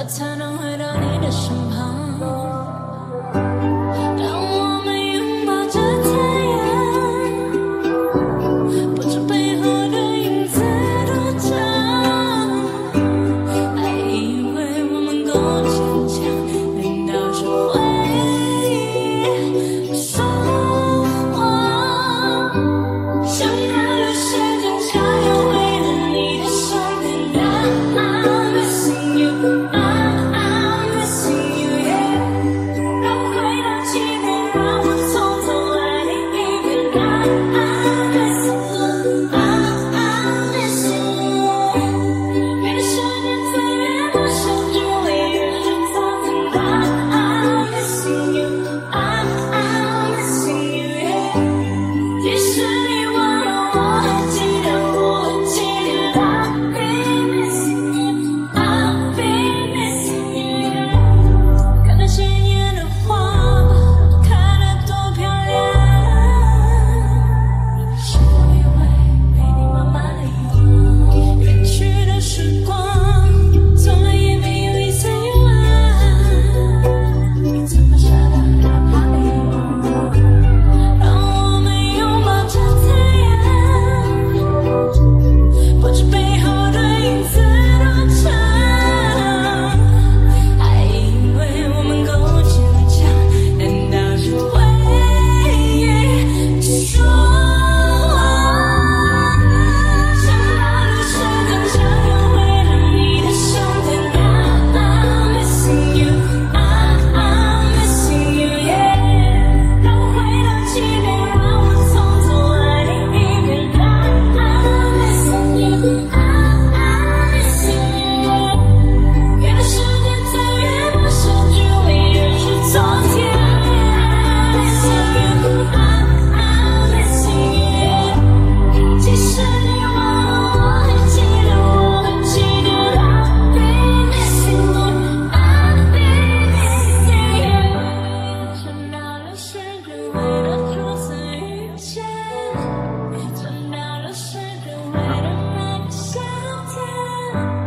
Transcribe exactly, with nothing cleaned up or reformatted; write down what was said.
才能回到你的身旁。当我们拥抱着太阳，不知背后的影子多长，还以为我们够坚强，难道是回忆说谎？想要的时间想要回到你的身边。I'm missing you, I'm I'm missing you, yeah。 让我回到起点，让我从头爱你一遍。I'm missing you, I'm I'm missing you。 越是年岁越陌生，距离越是错曾。I'm missing you, I'm I'm missing you, yeah。 即使你忘了，我还记得，我会记得。I'll be missing you, I'll be missing you。 看那鲜艳的花吧，开得多漂亮。是我以为陪你慢慢地游，远去的时光，从来也没有一丝一毫。你怎么舍得让它离我？让我们拥抱着太阳，不知背后的影子多长，还以为我们够坚强，难道是回忆说谎？想要的时间想要回到你的身边。I'm missing you, I'm I'm missing you, yeah。 让我回到起点，让我从头爱你一遍。I'm missing you, I'm I'm missing you。 越是年岁越陌生，距离越是昨天。I'm missing you, I'm I'm missing you。 即使你忘了，我还记得，我会记得。I'll be missing you, I'll be missing you。 想到了时间回到初次遇见，想到了时间回到那个夏天。